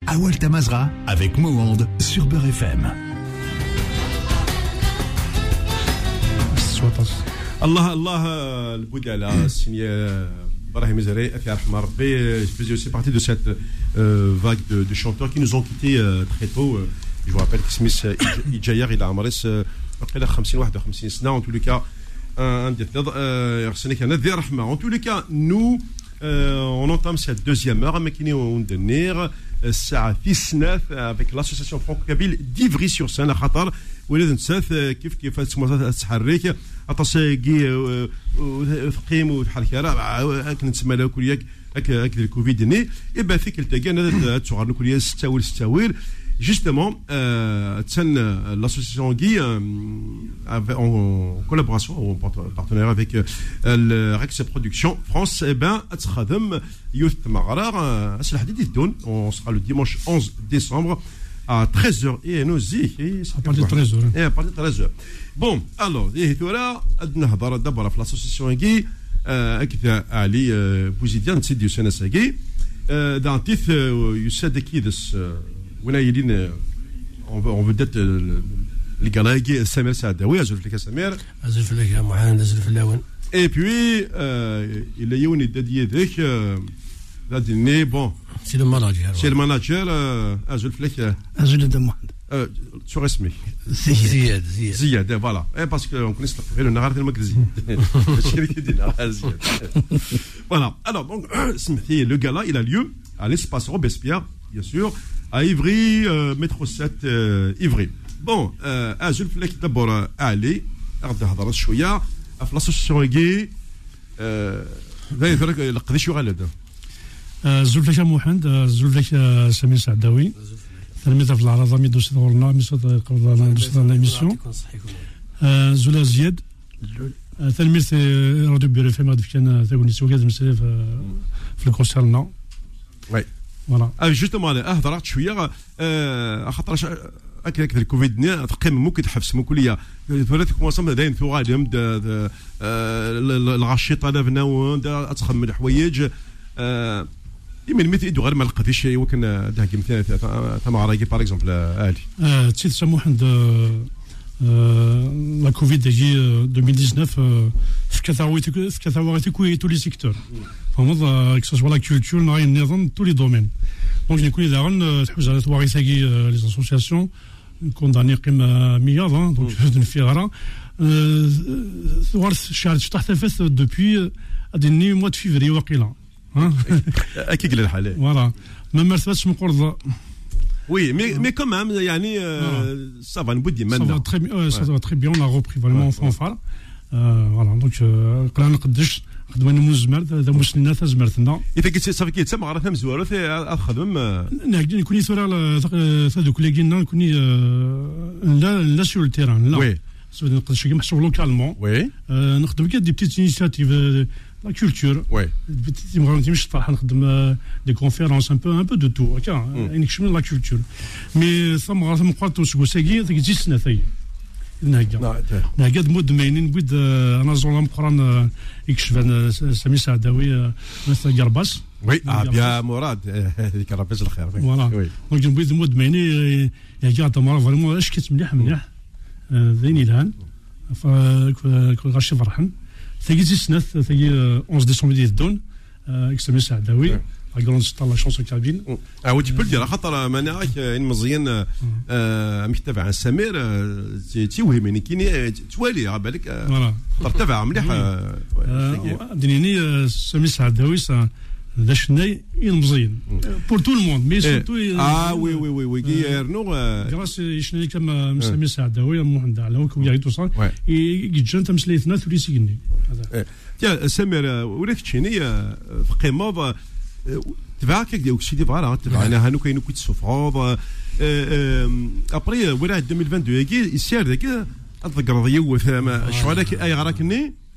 Awal Tamazra avec Mohand sur Beurre FM. Allah, le Boudala, signé Brahim Zeré, faisait aussi partie de cette vague de chanteurs qui nous ont quittés très tôt. Je vous rappelle que Smith Ijayar, il a amarré 51 سنة, en tous les cas, en tous les cas, nous, on entame cette deuxième heure avec l'association franco-kabyle d'Ivry-sur-Seine, ولازم تساث كيف تسمى تحرك اتصاقي وثقيم وتحرك راه كنا نسمى له كلياك هك الكوفيد ني يبقى فيك التقى تصغر كليا ستاويل justement l'association Guy en collaboration ou en partenaire avec le Rex Production France تخدم يوث مغرر اسلح حديد الدون. On sera le dimanche 11 décembre à 13h et nous à partir de 13h. Et à partir de 13h. Bon, alors, là, نهضر d'abord في l'association Guy كذا علي بوزيديان نسيديو سنه ساقي دانتيث يساد كيدس وين يلين on veut d'être les gars سمير سعداوي ازول فيك سمير ازول فيك يا محمد ازول فلاون et puis il y a une dédié ذاك دادني bon c'est le manager ازول فيك ازول دموند شو اسمك زياد voilà parce que on connaît غير النهار المكرزي voilà alors donc le gala il a lieu à l'espace Robespierre bien sûr à Ivry métro 7 Ivry bon ازول فيك دبر علي غادي نهضر شويه في l'association Guy ذا يفرق لقدي شو غالد زولفك محمد زولفك سمير سعداوي تلميذ في العراضه ميدوس دورنا ميسود قبل لا ميسيون زولا زياد تلميذ راديو بيرو فيما كان تاكوني سوكاز مسير في الكونسيرنا وي فوالا جوستومون هضرت شويه خاطر هكاك الكوفيد تقيم ممكن تحفز ممكن ليا ثلاث كوماسام داين ثو غادم الغشيطه لافنا تخمم الحوايج يمين مثل غير ما لقى في شيء وكان داك مثلا ثم راكي باغ اكزومبل عالي تسيت سموحن لا كوفيد ديجي 2019 في كثاويتي كوي تو لي سيكتور فهمض كسوا لا كولتور ناي النظام تو لي دومين دونك نكون داغن تحوز على تواريثاكي لي اسوسياسيون كونداني قيمه مياض دونك نفيغرا ثوارث شهر تحت الفاس دوبوي ادني موا دو فيفري واقيلا اكيد الحاله فوالا ما مرتبطش من قرض oui mais quand même يعني ça va نبدي منا ça va très bien on a repris vraiment en fanfare voilà donc قلنا نقدش خدمنا مزمر ذا مسلنا تزمرتنا اذا كنت صافي كيتسمع راه فهم زوارو تخدم نقدر نكوني ثورا هذوك اللي قلنا نكوني لا سور التيران لا نقدر شي محسوب لوكالمون نخدم كاع دي بتيت انيشيتيف la culture مش طاح نخدم دي كونفيرونس un peu de tout هكا نكشف la culture mais ثم قرطو سكوساكي تجي سنه ثاي نهكا مدمنين بيد انا زولام قران يكشف سمير سعداوي مثل قرباس وي يا مراد هذيك ربي الخير فوالا دونك بيد مدمنين هكا تمر فريمون اش كيت مليح ذيني الهان غاشي فرحان ثقي سنه ثقي 11 ديسمبر ديال سمير سعداوي لا غروند ستار لا شونسون كابين tu peux le dire خاطر مانعك مزيان متابع عن سمير توهمني كيني توالي على بالك خاطر تابع مليح دنيني سمير سعداوي ذا شناي مزيان بور تو الموند مي سورتو وي كيرنو غراس شناي كما سمير سعداوي محمد على هو يا تو صار يجي تمسليتنا ثوري سيغني يا سمير ولك تشيني في قيمه تبعك ديك شي فوالا تبعنا هانو كاينو كنت سوفرون ابري ولا 2022 يسير ذاك تذكر ضيو شو هذاك اي غراكني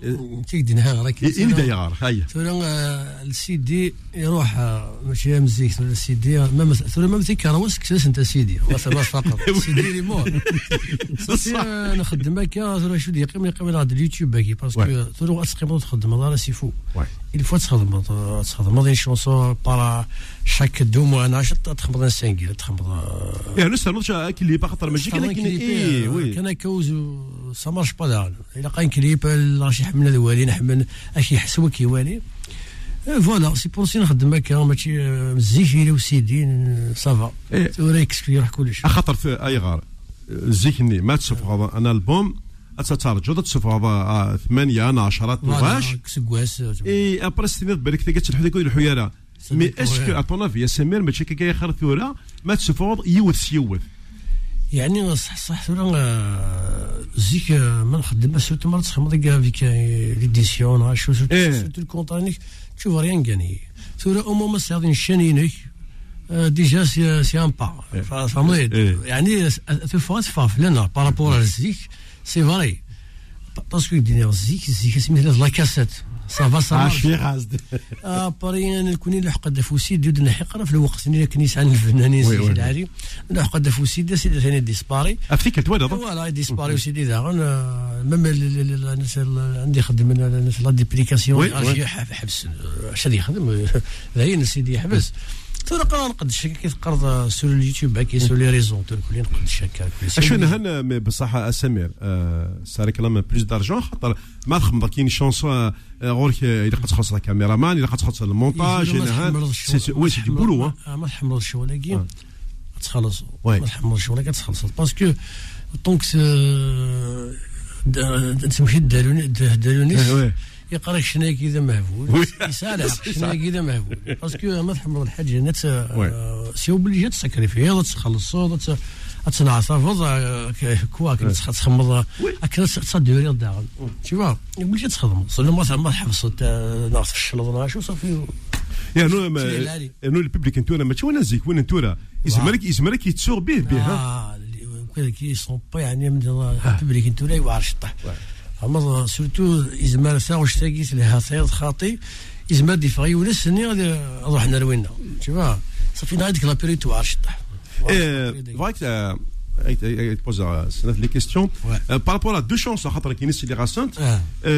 تيدينها راك إني داير هاي ثورة السيدي يروح ماشي مزيك ثورة السيدي ثورة ما مزيك كروس كساس انت سيدي ما فقط سيدي لي مور نخدم هكا ثورة شو دي يقيم على اليوتيوب هكي باسكو ثورة تقيم تخدم هذا سيفو il faut تخدم دي شونسون بارا شاك دوم وانا تخدم سانغيل تخدم يعني نسال كليب خاطر ماشي كان كوز سا مارش با دار الا قاين كليب راشي حملنا الوالي نحمل اشي يحسوا كيوالي فوالا سي بور سي نخدم هكا ماشي مزيكي وسيدي صافا وريكس يروح كلشي خاطر في اي غار زيكني ما تصفغ انا البوم اتترجو تصفغ 8 انا 10 12 كسكواس اي ابري ستينات بالك تلقى الحديقه الحياره مي اسكو اتونا في سمير ماشي كي خير ثوره ما تصفغ يوث يعني صح ثورة زيك ما نخدم سورتو مرات تخدم كاع فيك ليديسيون شو سورتو الكونطانيك تشوف ريان كاني ثورة او مومون ساعدين شانينك ديجا سي ان با فهمتي يعني تفوت فاف لنا بارابور الزيك سي فري باسكو دينا الزيك سميتها لا كاسيت صافا عاشي غازد بارين الكوني لحق دافوسي ديود نحقرا في الوقت اللي كنيس عن الفنانين سيدي العالي لحق دافوسي سيدي ثاني ديسباري افتيك توالد فوالا ديسباري وسيدي داغن ميم الناس عندي خدم الناس لا ديبليكاسيون حبس اش غادي يخدم هاي سيدي يحبس تلقى نقد الشكا كيف قرض سور اليوتيوب هكا سور لي ريزون كلين نقد الشكا اشنو هنا بصح سمير ساري كلام بلوس دارجون خاطر ما تخمم كاين شونسون غورك الا تخصص الكاميرا مان الا تخصص المونتاج هنا وي سي دي بولو ما تحملش الشغل ولكن تخلص ما تحملش ولكن تخلص باسكو طونك تمشي دالونيس يقرا شنو كذا مهبول يسالح شنو كذا مهبول باسكو ما تحمل الحاجه نت سي اوبليجي تسكريفي تخلص تنعصف كواك تخمض اكل تصدر داغن شوف يقول لك تخدم صلي ما حفظت ناقص الشلط شو صافي يعني انو الببليك انتونا ماشي وانا زيك وين انتونا يزمرك يتسوق به كي سون با يعني من الببليك انتونا يوعر شطح اما سورتو ازمار ساعه تاقيت لها صيد خاطي ازمار دفاعي ولا سني غادي نروح نروينا شوف صافي هذيك لا بيريود توعر شطح فايك تبوز سنة لي كيستيون بارابور ا دو شونس خاطر كاين سي لي غاسنت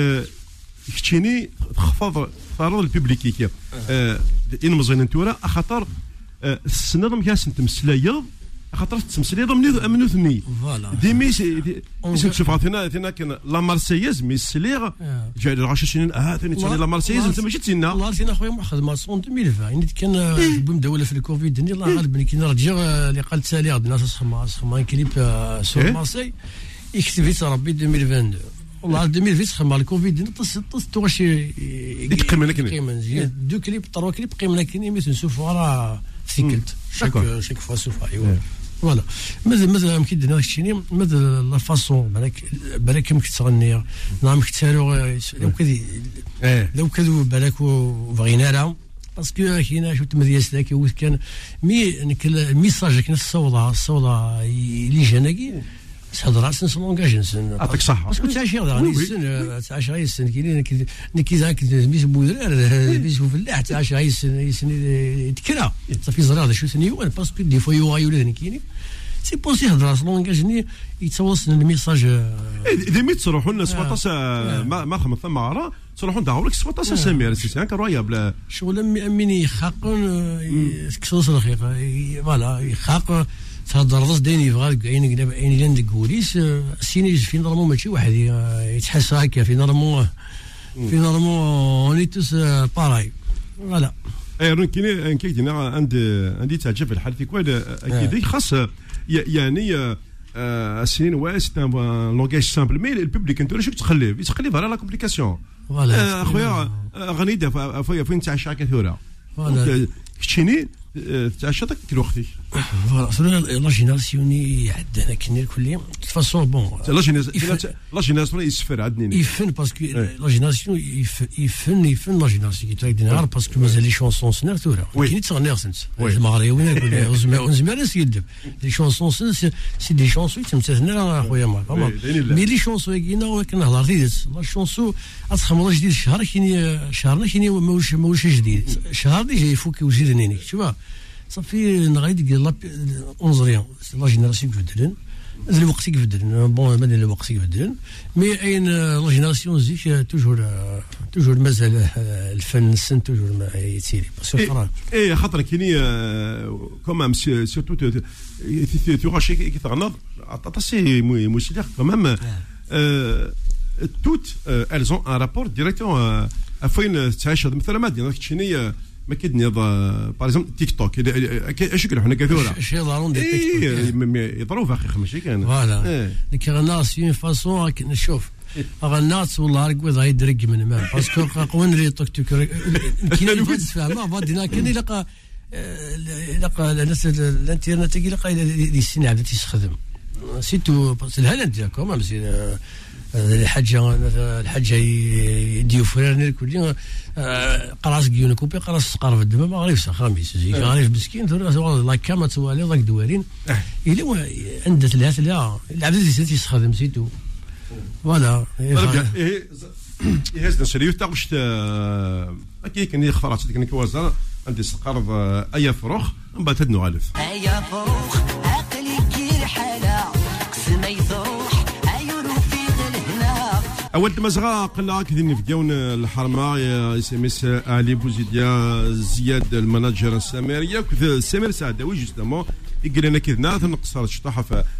كتشيني تخفض ثروه الببليكيه ان مزين انتورا خاطر السنه كاس نتمسلايض خاطر تمسليض منو ثني ديمي تشوف عطينا كان لا مارسييز مي سليغ جاي 10 سنين ثاني تسمي لا مارسييز انت ماشي تسنى والله سينا خويا خدمه 2020 كان بمدوله في الكوفيد الله غالب كي نرجع اللي قال تسالي الناس سخما كليب سور مارسي يكتب ربي 2022 والله 2020 سخما الكوفيد طست واش يقيم لك دو كليب 3 كليب قيم لك ميت نشوفوا راه سيكلت شاك فوا سوف ايوا فوالا ماذا يمكن دنا الشيء ماذا لا فاصون بالك يمكن تغني نعم كثاروا لو كذو بالك وبغينا لهم باسكو كاينه شفت مدياس ذاك كان ميساج كان الصوضه اللي جاناكي تهضر على سن لونغاج نسن يعطيك الصحه باسكو تعيش غير تعيش غير السن كي ذاك ميس بودرار ميس فلاح تعيش غير السن تكرا صافي زرا هذا شو ثاني هو باسكو دي فوا يو ولا كاينين سي بوسي هضر على لونغاج يتوصل الميساج ديميت تروحوا لنا 17 ما خمس ثم عرا تروحوا ندعوا لك 17 سمير سي انكرويابل شغل ميني يخاقون كسوس الخيق فوالا يخاق تهضر ضد ديني يبغى عيني قدام عيني لين دكوليس سيني في نورمال ماشي واحد يتحس هكا في نورمال اونيتوس باراي فوالا اي كاين كاين عندي تعجب في الحال في كواد اكيد خاص يعني السنين واش لونغاج سامبل مي البوبليك انت واش تخليه على لا كومبليكاسيون اخويا غنيده فين تاع شاكا ثوره فوالا كتشيني تعيش هذاك الوقت فوالا لا جينيراسيوني عندنا كاين الكل فاصون بون لا جينيراسيون يسفر عندنا يفن باسكو لا جينيراسيون يفن لا جينيراسيون كي تاع باسكو مازال لي شونسون سنر تورا كاين تغني سنت المغربيين يقولوا ونزمر يدب لي شونسون سي دي شونسون تمثلنا اخويا مي لي شونسون كاينه كنهضر تيدس لا شونسون اصخم والله جديد الشهر شهرنا كاين ماهوش جديد شهر ديجا يفوك وزيد نيني شوف صافي نغيد لا 11 لا جينيراسيون كيفدلن الوقت كيفدلن بون مادام الوقت كيفدلن مي اين لا جينيراسيون زيك توجور مازال الفن السن توجور ما يتسيري باسكو خاطر كاينين كومام سيرتو تو غاشي كيتغنض عطاسي موسيقى كومام toutes elles ont un rapport directement فين تعيش مثلا ما دينا كتشيني ما كيدني باغ اكزومبل تيك توك اش كاين حنا كثوره شي ضروري تيك توك يضربوا فاخي ماشي كان فوالا كاين الناس في فاصون نشوف الناس والله ركوي ضايد درق من ما باسكو قوين لي توك توك كاين اللي تفهم ما بدينا كاين لقى الناس الانترنت لقى لي السنه عاد تيستخدم سيتو الهلا ديالكم مزيان الحاجه يديو فريرني كل قراص كيون كوبي قراص قرف الدم ما غريفش خامس غريف مسكين لا كاما توالي ضاك دوارين الا عندها الهات لا العبد اللي تيستخدم سيتو فوالا يهز نشريو تاغش كي كان يخفرات كان كوازا عندي سقرض اي فروخ من بعد تدنو غالف اي فروخ عقلي كي حاله قسمي ضروح اول مزغا قلنا كذين في جون الحرمه يسميس علي بوزيديا زياد الماناجر السامريه كذا سامر سعداوي جوستومون يقول لنا كذنا نقصر الشطاحه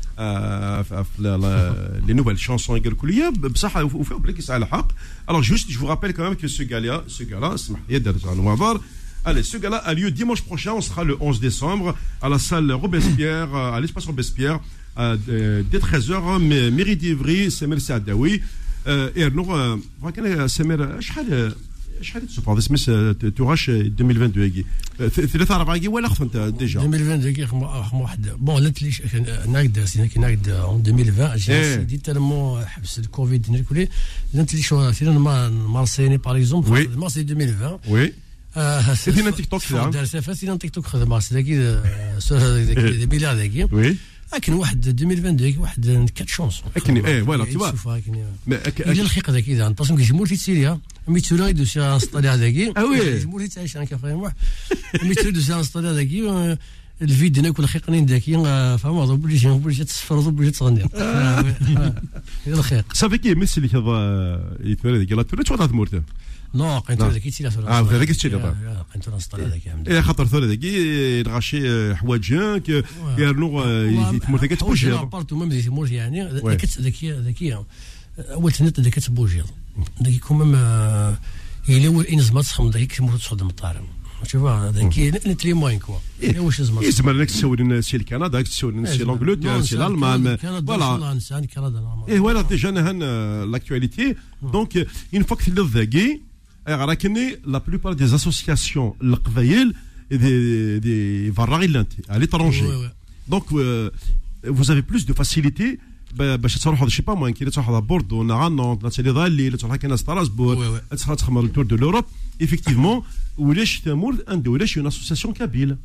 في لي نوفيل شانسون يقول كليه بصح وفيه بليك على الحق الوغ جوست جو رابيل كمان كو سو غالا اسمح لي درت نوافار. Allez, ce gala a lieu dimanche prochain, on sera le 11 décembre à la salle Robespierre, à l'espace Robespierre, dès 13h, mairie d'Ivry, Semer Saadawi. Et alors, كان سمير شحال تصبر اسمس توراش 2022 ثلاثة أربعة كي ولا خفنت ديجا 2022 كي خم واحد بون لات ليش ناقد سينا كي ناقد 2020 جي تالمون حبس الكوفيد نيكولي لات لي شو سينا مارسيني باغ اكزومبل مارسي 2020 وي سينا تيك توك دار سافا سينا تيك توك خدم مارسي داكي بلا داكي وي لكن واحد 2022 واحد 4 شونسون لكن فوالا تي فوا الى الخيق ذاك اذا نتصم كجمهور تيتسيريا ميتسولا يدوس انستالي هذاك الجمهور تعيش انا كفاهم واحد ميتسولا يدوس انستالي هذاك الفيديو ناكل خيقنين ذاكي فما بوليش تصفر بوليش تغني الى الخيق صافي كي مثل كذا يتمرد ذاك لا توري تشوط مورته نو قنتو ذاك يتسير هذاك يتسير قنتو نستالي هذاك خاطر ثور ذاك يغاشي حوايجك يرنو يتمر ذاك تبوجي بارتو ميم يتمر يعني ذكيه اول تنت ذاك تبوجي ذاك كومام الا هو انزما تسخم ذاك كيموت تصدم الطارم شوف هذاك نتلي موين كوا واش زعما يزمر لك تسول سي الكندا تسول سي لانجلتير سي الالمان فوالا فوالا ديجا هان لاكtualité دونك اون فوا كثلث ذاكي راكني لا بلوبار دي اسوسياسيون القبايل دي فاراغيلانت à l'étranger donc vous avez plus de facilité باش تروحوا شي با موين كي تروحوا بوردو نغانون تسالي ضالي تروحوا كاين ستراسبور تخمر التور دو لوروب ايفيكتيفمون ولاش تمر ولاش اون اسوسياسيون كابيل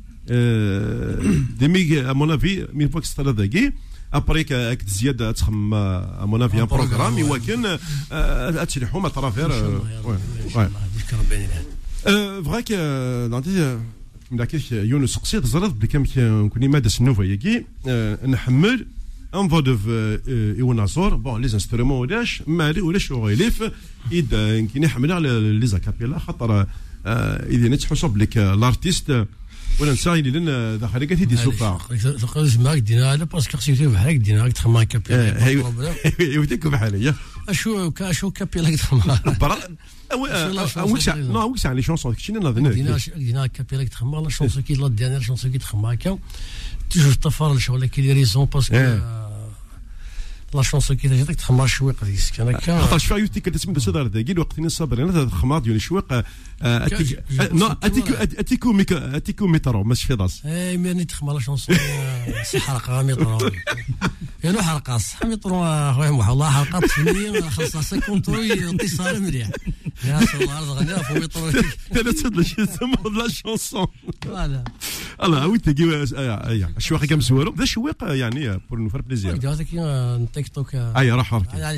ديمي ا مون افي مين فوا كسترا ذاكي ابري كاك زياده تخم ا مون افي ان بروغرام يمكن تشرحوا ما ترافير فراك نعطي ملاكيش يونس قصيد زرد بكم كوني مادس نوفا ياكي نحمل انفودف ايونازور بون لي انسترومون ولاش مالي ولاش غيليف اذا كاين يحمل على لي زاكابيلا خاطر اذا نتحسب لك الارتيست ولا نساي لنا داخل كاع دي سوفا تقدر معاك دينا على باسكو خصك بحالك دينا تخمم كابيلا يوديك بحاليا اشو كابيلا تخمم نو وكس لي شونسون كشينا نظن دينا كابيلا تخمم لا شونسون كي لا دينا شونسون كي تخمم هكا توجور تفرج ولا كاين لي ريزون باسكو لا شونسون كي تجيك تخمر شويق ديك كان هكا خاطر شفا يوتي كتسمى بسدار داكي الوقت صابر انا الخمار ديال شويق اتيكو مترو ماشي في داس ماني تخمر لا شونسون حلقه مترو يعني حلقه صح مترو خويا محمد الله حلقه فنيه خاصها 50 طوي اتصال مليح يا الله غنى في مترو انا تصدق شي تسمى لا شونسون فوالا الله ويت تجي شويق كم سوالو ذا شويق يعني بور نو فار بليزير هذاك تيك توك راح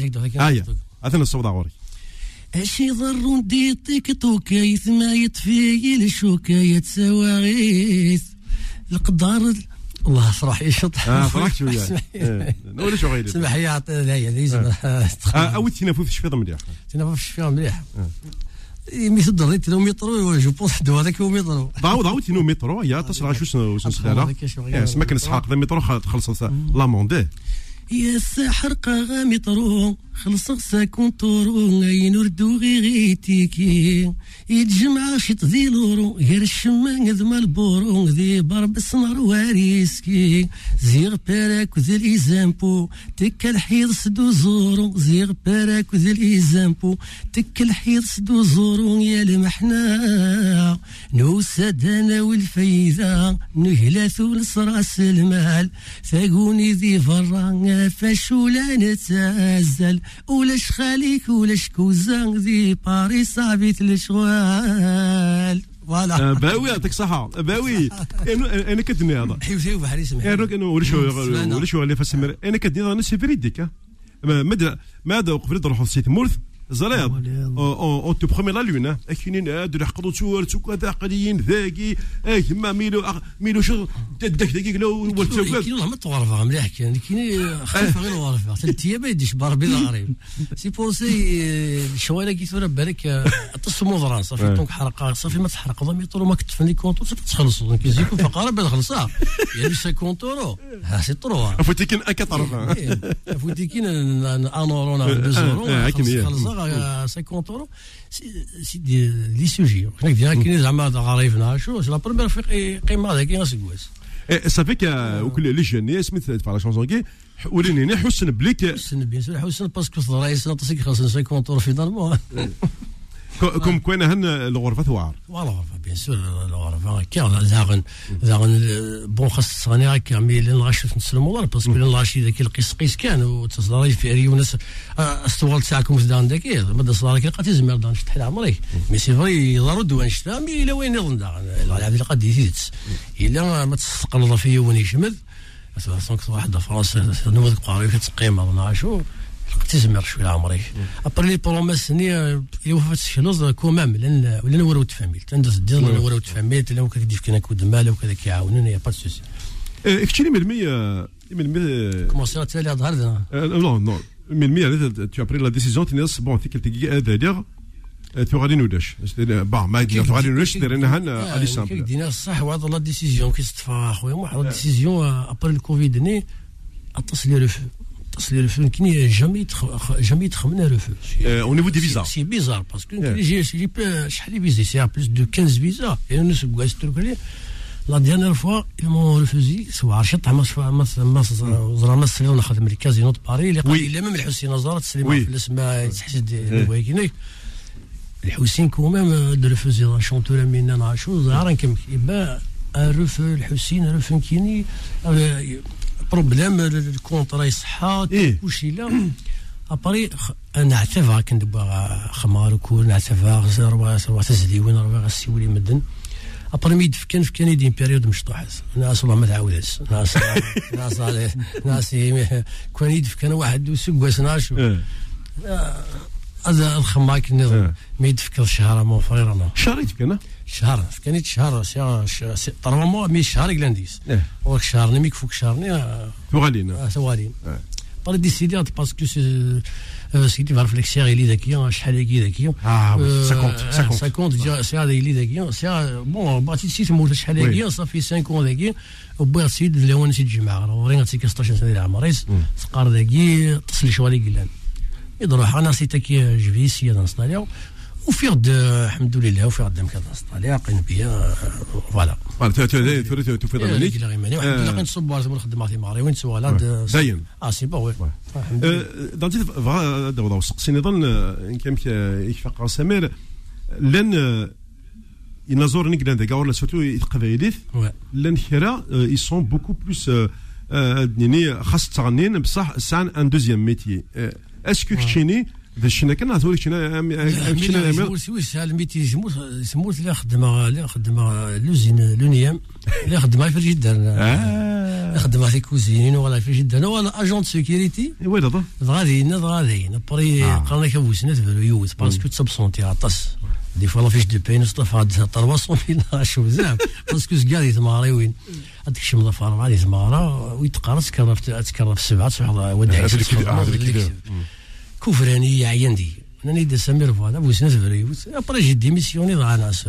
اثنى الصوت غوري اشي ضر دي تيك توك ما يطفي الشوكه يتسواغيث القدر الله صراحه يشط فرحت شويه ولا شو غير سمح لي عطي لازم او تنافس في الشفيضه مليح تنافس في الشفيضه مليح مثل دريت لو مترو جو بونس دو هذاك هو مترو ضاو تينو مترو يا تصرا شو سداله اسمك نسحاق ذا مترو خلص لاموندي يا الساحر قا مترو خلص 50 طورو ينردو غيتيكي يتجمع شط ذي لورو غير الشمان ذ مالبورو ذي برب سمر واريسكي زيغ باراك ذي الإزامبو تك الحيض سدو زورو زيغ باراك ذي الإزامبو تك الحيض سدو زورو يا المحنا نوسد انا والفايدة نهلاثو لصراس المال ثاقوني ذي فرا فشولا نتازل ولاش خاليك ولاش كوزان ذي باريس عبيت الشوال فوالا باوي يعطيك صحة باوي انا كدني هذا حيوثي وبحري سمح انا ولا شو اللي فسمر انا كدني انا سيفري ديك ماذا وقف لي نروحوا لسيت مورث زريض اون تو برومي لا لون اكينين هادو اللي حقدوا تصور كذا قليين ذاكي ما ميلو شو داك دقيق لو كاين والله ما تغرفها مليح كاين خفيفه غير غرفه 3 ايام ما يديش باربي غريب سي بونسي شويه كي تورا بالك تصمو ضران صافي دونك حرقه صافي ما تحرق ضمي طول ما كتفني كونطور صافي تخلصوا كيزيكو فقاره بين خلصها يعني 50 طورو ها سي طرو فوتي كاين اكثر فوتي كاين انورونا 2 خلصها 50 اورو سي لي سوجي هناك كاين زعما غريفنا شو لا بروميير قيمه هذاك كاين سكواس صافي وكل لي جوني سميت فا لا شونسون كي وليني حسن بليك حسن بيان سور حسن باسكو الرئيس ناطسك 50 اورو فينالمون كم كوين هن الغرفه ثوار الغرفه بيان سور الغرفه كاين زاغن بون خاص صاني هكا مي لين غاشوف نسلموا باسكو لين غاشي ذاك القيس كان وتصدري في ريونس استوال تاعكم في دان داك ما تصدر كي لقيت زمر دان شتحي العمري مي سي فري ضروري دوان شتا مي الى وين يظن العبد اللي قد يزيد الا ما تستقل فيا وين يشمل مثلا واحد فرنسا نوض قاري كتقيم ما شو تزمر شويه عمري ابري لي بروميس ني يوفات الشنوز كومام ولا نورو تفاميل تندز دير نورو تفاميل لو كدير كنا كود مال وكذا كيعاونوني با سوسي اكتشري من كومونسي تالي ظهر نو من tu as pris la décision تنس بون تيكل هذا تو غادي نوداش با ما تو غادي نوداش ديرنا هنا علي سامبل دينا صح وهذا لا ديسيزيون كيستفا خويا واحد لا ديسيزيون ابري الكوفيد ني اتصل ريفو كني جامي تخمنا ريفو au niveau des visas c'est bizarre parce que j'ai شحال فيزي c'est plus de 15 visas et nous sommes la dernière fois ils m'ont refusé سواء شط ما زرا ما سلينا نخدم لي كازينو باري اللي قال الا ميم الحسين زارت تسليم في الاسماء تحسد ويكني الحسين كومام دو ريفوزي لا شونتور مينا نعشو زهران كم يبا ريفو الحسين ريفو كيني بروبليم الكونطرا يصحى كلشي لا ابري انا اعتفا كندبا خمار وكول نعتفا روا تزليوين روا غسيولي مدن ابري ميد في كندير بيريود مشطوحه ناس والله ما تعاودش ناس كون يدف كان واحد وسكواس ناشو هذا الخماك النظام ما يدفكر شهر مو فريرنا شهريت كنا شهر كانت شهر طرمو مي شهر كلانديس وك شهر نميك فوق شهرني ثوالين بار ديسيديات باسكو سيدي فار فليكسير اللي ذاكيه شحال هكي ذاكيه 50 سي هذا اللي ذاكيه سي بون باتي سي تموت شحال هكي صافي 5 ذاكيه وبغى سيد لون سيد الجماعه ورينا تيك 16 سنه ديال عمريس سقار ذاكي تصل شوالي قلان يضرب انا سيتك جفيسيه نصناليو وفي غد الحمد لله وفي غد مكان طالع قين بيا فوالا تفيض عليك الحمد لله كنصب على نخدم في ماري وين سوالا داين سي با وي دانتي فغا سقسي نظن ان كان يشفق سمير لان ينظر نقدر ندير ولا سورتو القبائليت لان كرا ils sont beaucoup plus يعني خاص تغنين بصح سان ان دوزيام ميتي اسكو كتشيني باش كنا نهضروا كنا سهل ميتي يسموه اللي خدمه لوزين لونيام اللي خدمه في جدا خدمه في كوزين ولا في جدا ولا اجون سيكوريتي وين هذا غاديين بري قالنا كبوسنا يوز باسكو تسبسونتي عطس دي فوا فيش دو بين صطفى 300,000 شو بزاف باسكو زكاري تماري وين هذيك الشيء مضافر غادي تمارا ويتقرا تكرر في 7 صح ودعي كفراني عيندي انا ندير سمير فوالا بوسنا فريوت ابري جي ديميسيوني ضاع ناس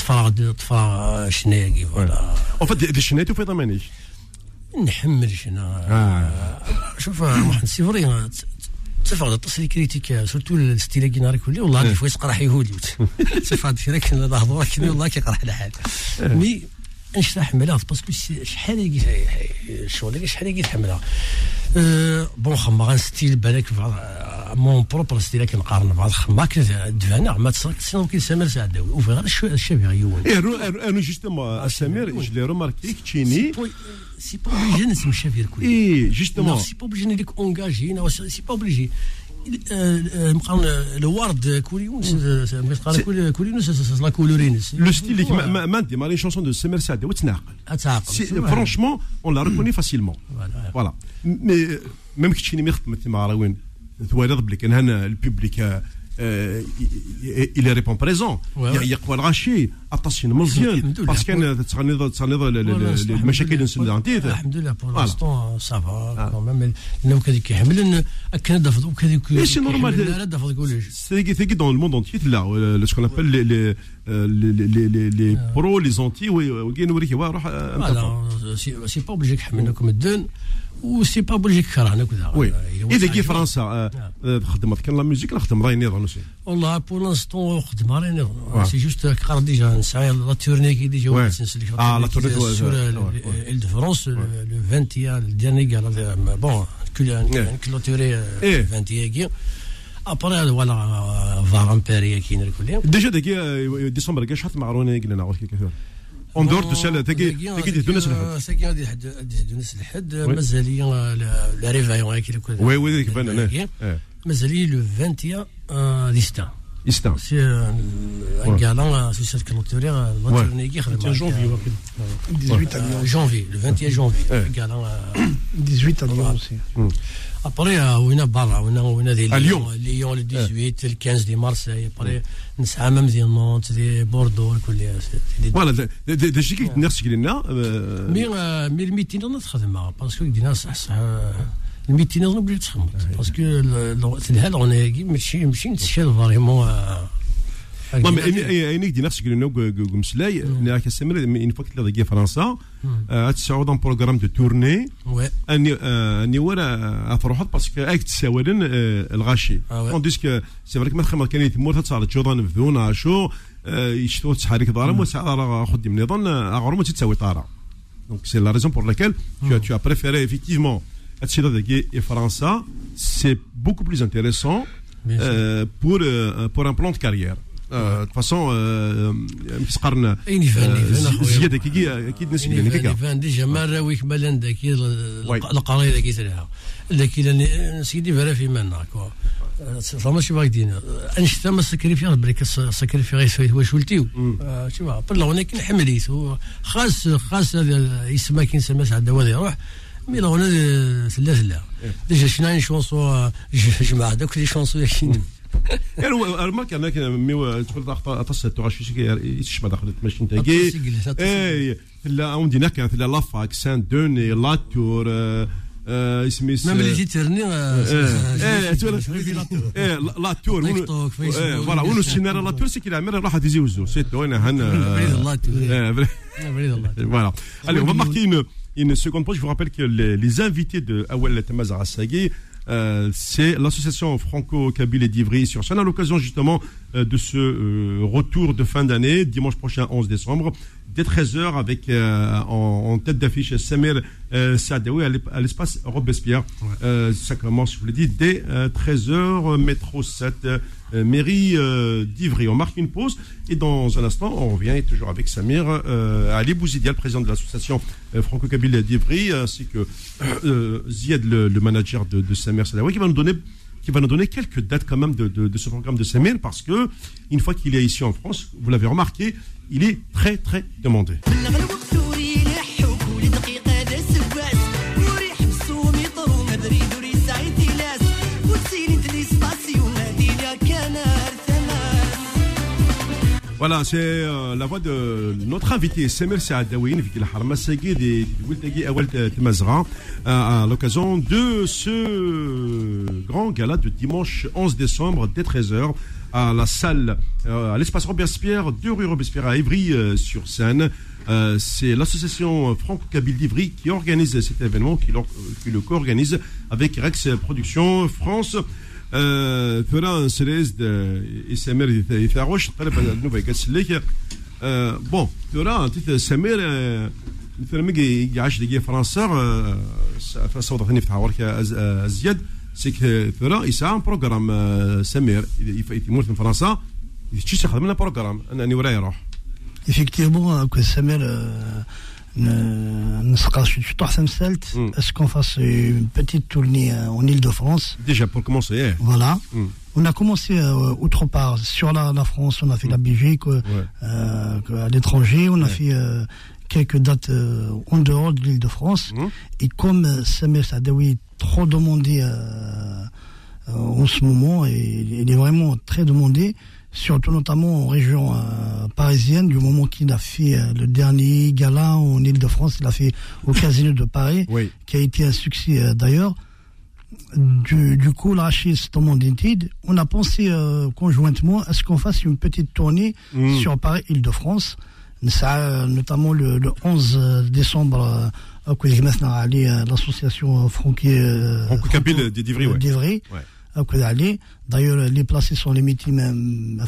طفا شناقي فوالا اون فيت دي شنيتو في ضمانيش نحمل شنا شوف محمد سي فري تفاعل التصريح كريتيك سورتو الستيل كي كلي والله دي فوا يسقرح يهودي تفاعل شي راك نهضروا كي والله كيقرح الحال مي نشرح حملها باسكو شحال الشغل شحال يتحملها بون خما غنستيل بالك مون بروبر ستيل كنقارن بعض خما كدفانا ما تصرك كي سامر سعداوي وفي غير الشبيه يون انا جوستومون سامر جو لي رماركي كتشيني سي با اوبليجي نسمي الشافير كل اي جوستومون سي با اوبليجي نديك اونغاجي سي با اوبليجي مقارن الورد كوليونس مقارن كوليونس لا كولورينس لو ستيل ما ندي مالي شونسون دو سامر سعداوي تناقل فرانشمون اون لا ريكوني فاسيلمون فوالا مي ميم كتشيني مي خدمت مع راوين توالد بلي كان هنا البوبليك il répond présent يقوى الغاشي اطاسين مزيان باسكو تغني المشاكل نسلانتي الحمد لله بور لانستون صافا كومام لو كذا كيحمل كان دافض وكذا سي نورمال لا دافض كلش سي دون لو موند انتي لا سكون ابل لي برو لي زونتي وكاين نوريك روح سي با اوبليجي كحملناكم الدون وسي با اوبليجي كرهنا كذا وي اذا كي فرنسا خدمت كان لا ميوزيك نخدم راي نيضان اوسي والله بور لانستون خدم راي نيضان سي جوست قرا ديجا نسعى لا تورني كي ديجا لا تورني سور ال دو فرانس لو 20 الديرني قال بون كلوتوري 20 كي ابري ولا فارامبيريا كي نركل ديجا داكي ديسمبر كاش حط معروني قلنا نعرف كيف اون دور تسال تاكي ديتو ناس الحد ساكي غادي ديتو ناس الحد مازال لي لا ريفايون كي كل وي ديك بان مازال لي لو 20 ديستا سي ان غالان سوسيال كلوتوري لا تورني كي خدم جونفي 18 جونفي لو 21 جونفي غالان 18 aussi ابري وين برا وين دي ليون لو 18 ل 15 دي مارسي ابري نسعى ميم دي نونت دي بوردو كل فوالا داكشي كي نفس قلنا مي الميتين نخدمها باسكو دينا صح الميتين نبغي تخمط باسكو الهال غناكي ماشي نتشال فريمون انك دي نفسك قلنا مسلاي ناك السمر ان فوق تلاقي فرنسا تسعود ان بروغرام دو تورني اني ورا افروحات باسكو اك تساولن الغاشي اون ديسك سي فريك ما تخمر كان يتمور تصار جوضان فذونا شو يشتو تحرك ضارم وسعر خدي من نظن اغرم تساوي طاره دونك سي لا ريزون بور لاكيل tu as préféré effectivement et France, c'est beaucoup plus intéressant pour un plan de carrière. De toute façon, مسقرنا زيادة أكيد نسبة يعني فان ديجا مرة ويكمل ذاك القرية ذاك يسرها ذاك سيدي فرا في منا كوا فما شي باغدين انشتا ما سكريفير بريك سكريفير سويت واش ولتيو شوف بالله ولكن حمليت خاص يسمى كي نسمى سعد وادي يروح مي لا هنا ثلاثه ديجا شنو شونسو جماعه دوك لي شونسو ياكين المارك انا كان تقول اتصل تغشي يشبه داخل ماشي نتاكي لا عندنا كانت لا فاك سان دوني لا تور اسمي ميم اللي جيت ترني لا تور فوالا ونو سيناريو لا تور سي كي العمر راح تزيوزو سي تو انا هنا بريد الله تور voilà allez on va marquer une seconde pause. Je vous rappelle que les invités de Awel Tamaz Rassagui c'est l'association franco-kabyle et d'Ivry-sur-Seine à l'occasion justement de ce retour de fin d'année, dimanche prochain 11 décembre, dès 13h avec en tête d'affiche Samir Saadawi à l'espace Robespierre. Ouais. Ça commence, je vous l'ai dit, dès 13h, métro 7, mairie d'Ivry. On marque une pause et dans un instant, on revient toujours avec Samir Ali Bouzidia, le président de l'association franco-kabyle d'Ivry, ainsi que Ziad, le manager de Samir Saadawi, qui va nous donner quelques dates quand même de ce programme de Samir, parce que une fois qu'il est ici en France, vous l'avez remarqué, il est très très demandé. Voilà, c'est la voix de notre invité, Samir Saadawi, à l'occasion de ce grand gala de dimanche 11 décembre dès 13h à la salle, à l'espace Robespierre, 2 rue Robespierre à Ivry-sur-Seine. C'est l'association franco-kabyle d'Ivry qui organise cet événement, qui le co-organise avec Rex Productions France. ثران سريز سمير يثاروش طلب نوفا يقسلك بون ثران سمير مثل ما يعيش دقيقه فرنسا فصوت ثاني في حوارك ازياد سيك ثران يسعى بروغرام سمير يموت من فرنسا يشتي يخدم لنا بروغرام انني وراي يروح effectivement que Samir est-ce qu'on fasse une petite tournée en Île-de-France? Déjà pour commencer. Voilà. On a commencé autre part sur la France, on a fait la Belgique, à l'étranger, on a fait quelques dates en dehors de l'Île-de-France. Et comme Samir Saadawi est trop demandé en ce moment, et il est vraiment très demandé, surtout notamment en région parisienne, du moment qu'il a fait le dernier gala en Île-de-France, il a fait au Casino de Paris, oui, qui a été un succès d'ailleurs. Du coup, là, chez ce moment d'études, on a pensé conjointement à ce qu'on fasse une petite tournée sur Paris, Île-de-France. Ça, notamment le 11 décembre, l'association franco-kabyle d'Ivry. Ouais. D'ailleurs, les placés sont limités même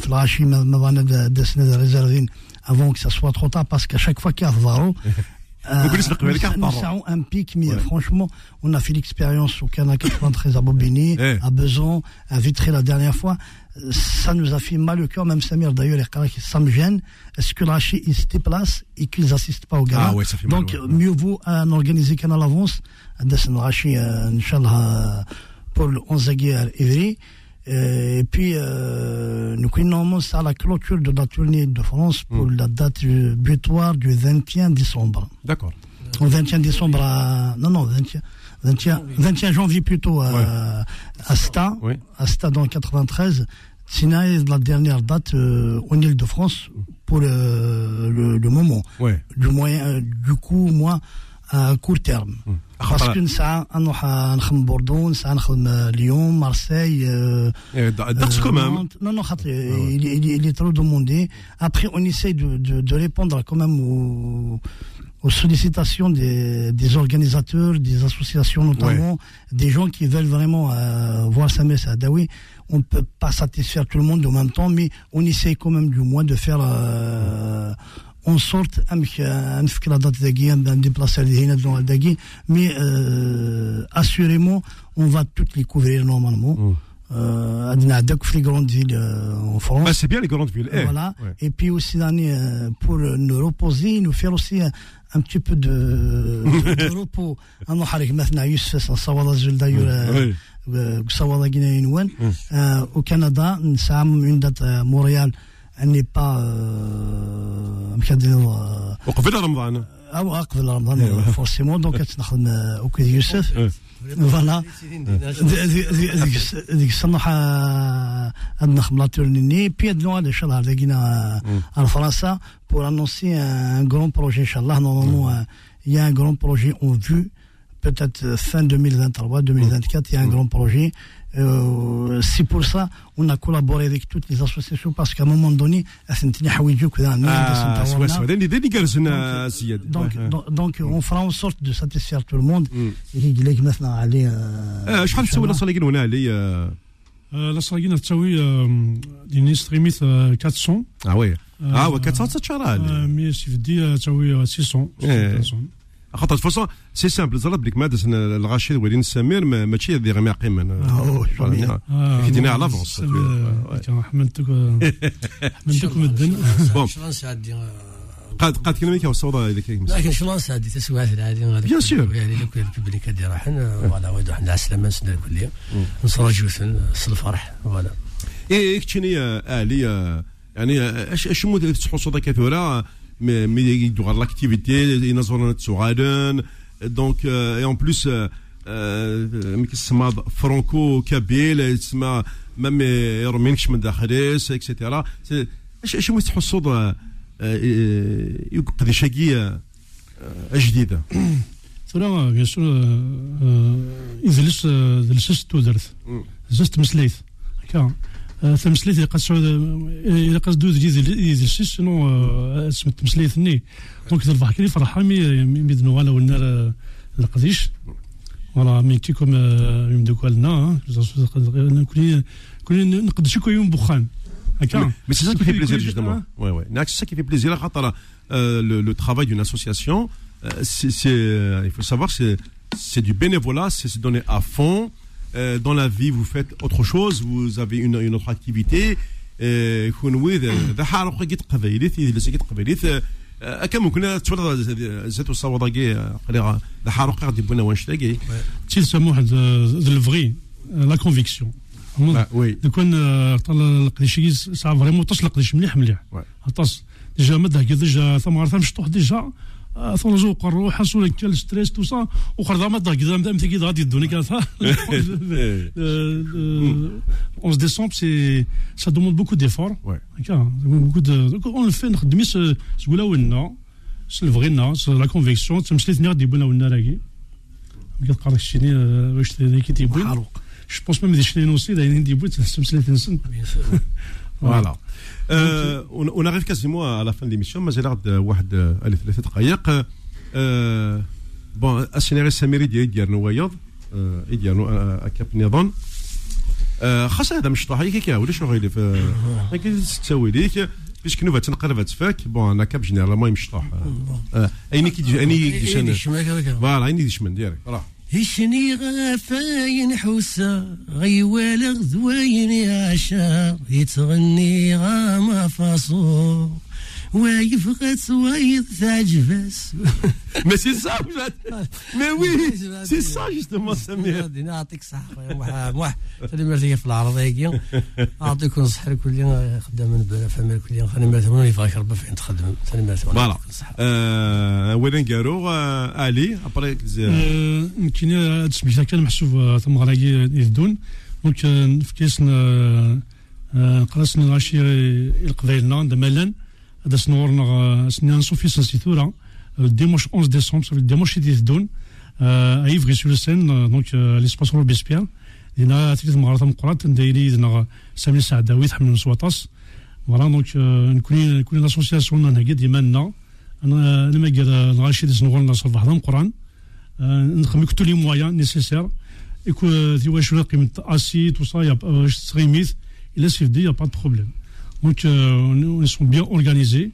avant que ça soit trop tard, parce qu'à chaque fois qu'il y a Varo, nous avons un pic, mais franchement, on a fait l'expérience au Canal 93 à Bobigny, à Besançon, à Vitré la dernière fois. Ça nous a fait mal au cœur, même Samir d'ailleurs, ça me gêne. Est-ce que l'Hachi, ils se déplacent et qu'ils n'assistent pas au gala? Donc, mieux vaut en organiser qu'à l'avance. L'Hachi, Inch'Allah, pour le 11 à Ivry. Et puis, nous commençons à la clôture de la tournée de France pour la date butoir du 21 décembre. D'accord. Au 21 décembre Non, 21 janvier plutôt à Sta, oui, à Sta dans le 93. Sinon, la dernière date en Île-de-France pour le moment. Ouais. Du coup, moi, à court terme. Parce que ça, on a Bordeaux, ça a Lyon, Marseille. Quand même. Non, il est trop demandé. Après, on essaye de répondre quand même aux sollicitations des organisateurs, des associations notamment, des gens qui veulent vraiment voir Samir Saadawi. On ne peut pas satisfaire tout le monde en même temps, mais on essaye quand même du moins de faire en sorte la date de déplacer les mais assurément on va toutes les couvrir normalement. Les grandes villes en France. Bah, c'est bien les grandes villes. Voilà. Ouais. Et puis aussi pour nous reposer, nous faire aussi un petit peu de repos. Au Canada, nous avons une date à Montréal. Elle n'est pas forcément, donc au Quai Youssef. Voilà. Puis en France pour annoncer un grand projet, Inch'Allah. Normalement, il y a un grand projet en vue peut-être fin 2023, 2024, il y a un grand projet. C'est pour ça on a collaboré avec toutes les associations parce qu'à un moment donné, donc on fera en sorte de satisfaire tout le monde. La Sarguine تساوي ديني ستريميت 400 وي 400 تشارع مي سي فدي تساوي 600 خاطر فاصون سي سامبل زرب لك مادة الغاشي ولين السمير ماشي هذه غير قيمة كي دينا على لافونس حملتك مدن بون قاد كلمه كيوصل هذيك لكن شلون سادي تسويات العادي بيان سور يعني لو كان الببليك دي راحن فوالا ويدو حنا السلامه سنه الكليه نصرجوا الفرح فوالا ايه كتشني الي يعني اش مود تحصل كثوره مي يدوغ لاكتيفيتي ينظرون تسوغادن دونك اي اون بليس مي كيسمى فرانكو كابيل تسمى مام يرمينكش من داخليس اكسيتيرا اش مود تحصل يقضي شقية جديدة. ثورة بيان سور إذا تودرت زست مسليت هكا تمسليت إذا قصدو يدلس شنو سمت مسليتني دونك تربح كلي فرحة مي دنوغالا والنار القديش ولا مي كيكم يمدوكالنا كلي نقدشو كو يوم بخان. Mais c'est ça qui fait plaisir justement. Ouais. C'est ça qui fait plaisir. Le travail d'une association, il faut savoir, c'est du bénévolat, c'est se donner à fond. Dans la vie, vous faites autre chose, vous avez une autre activité. كم كنا تولد زيتو صوضاقي قليغا الحارق غادي بونا وانشتاقي تيسمى واحد الفغي لا كونفيكسيون وي كون طال القديش ساعه فريمون تسلق قديش مليح طاس ديجا مده كذا ثمار مشطوح ديجا ثلجو قرو حسوا لك الستريس تو سا وخرج مده كذا مثلا كذا غادي يدوني كذا 11 décembre ça demande beaucoup d'efforts beaucoup de on le fait نخدمي سقولا ولنا سلفغينا لا كونفيكسيون تمشليتني غادي يبونا ولنا راكي كتقرا شتيني واش كي تيبوين Je pense même des chiens aussi, il y a une début de Voilà. On arrive quasiment à la fin de l'émission, mais j'ai l'air de واحد ثلاثة دقائق. Bon, السيناريو السميري ديالنا وياض ديالنا كاب نظام. خاصة هذا مش طاح هيك ولا شنو غير في هيك تسوي ليك باش كنوفا تنقرب تفاك بون انا كاب جينيرالمون مش طاح. ايني كي فوالا ايني ديشمن ديالك راه هشني غفاين حوسا غيوالغ ذوين يعشا يتغني غاما فاصو ويفغت ويض تعجبس Mais c'est ça, mais oui, c'est ça justement, Samir. نعطيك صحة موح تلمرتي في العرضية أعطيكم الصحة كل خدام فمل كل خلينا مرتبون يفاك ربي فين تخدم خلينا مرتبون. Voilà. وين قالوا علي أبريك يمكن تسميتها كان محسوب ثم غراقي يدون دونك في كيسنا قرصنا العشير القبيلنا دمالا هذا سنورنا سنان صوفي سنسيتورا dimanche 11 décembre, ça veut dire dimanche qui donne à Ivry-sur-le-Seine, donc l'espace Robespierre. Il y a des marathons قرات نديري دنا سامي سعداوي حمل مسواطاس. Voilà donc نكون l'association انا قد يمنا انا لما قال الغاشي نغول نصل واحد القران نخمم tous les moyens nécessaires et que tu vois je قيمه assis tout ça il y a streamit il est il y a pas de problème. Donc ils sont bien organisés.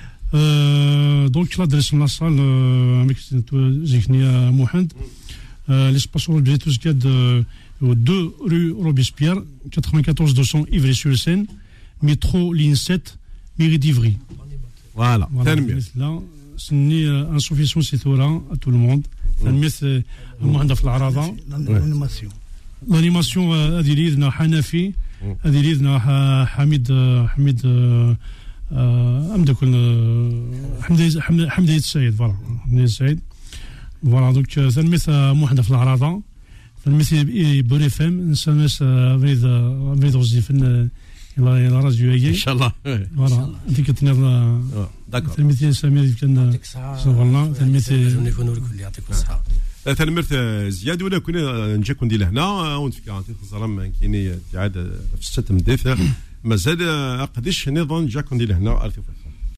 Donc là dans la salle avec Ziknia Mohamed l'espace Robespierre de 2 rue Robespierre 94 200 Ivry-sur-le-Seine métro ligne 7 mairie d'Ivry. Voilà. Là c'est un suffisamment citoyen à tout le monde. المثل Mohamed في العراضه l'animation هذه ليدنا حنفي هذه ليدنا حميد حمدي السيد فوالا حمدي السيد فوالا دونك ثلميث موحده في العراضه ثلميث بوري فام نسمس فريد وزيفن يلا راديو ان شاء الله فوالا انت كتنيض داكور تلميذ سمير كان والله تلميذ يكونوا الكل يعطيكم الصحه تنمرت زياد ولا كنا نجي كون دي لهنا ونفكر عن تخزرم كايني تعاد في 6 مدافع مازال قديش نظن جا كون دي لهنا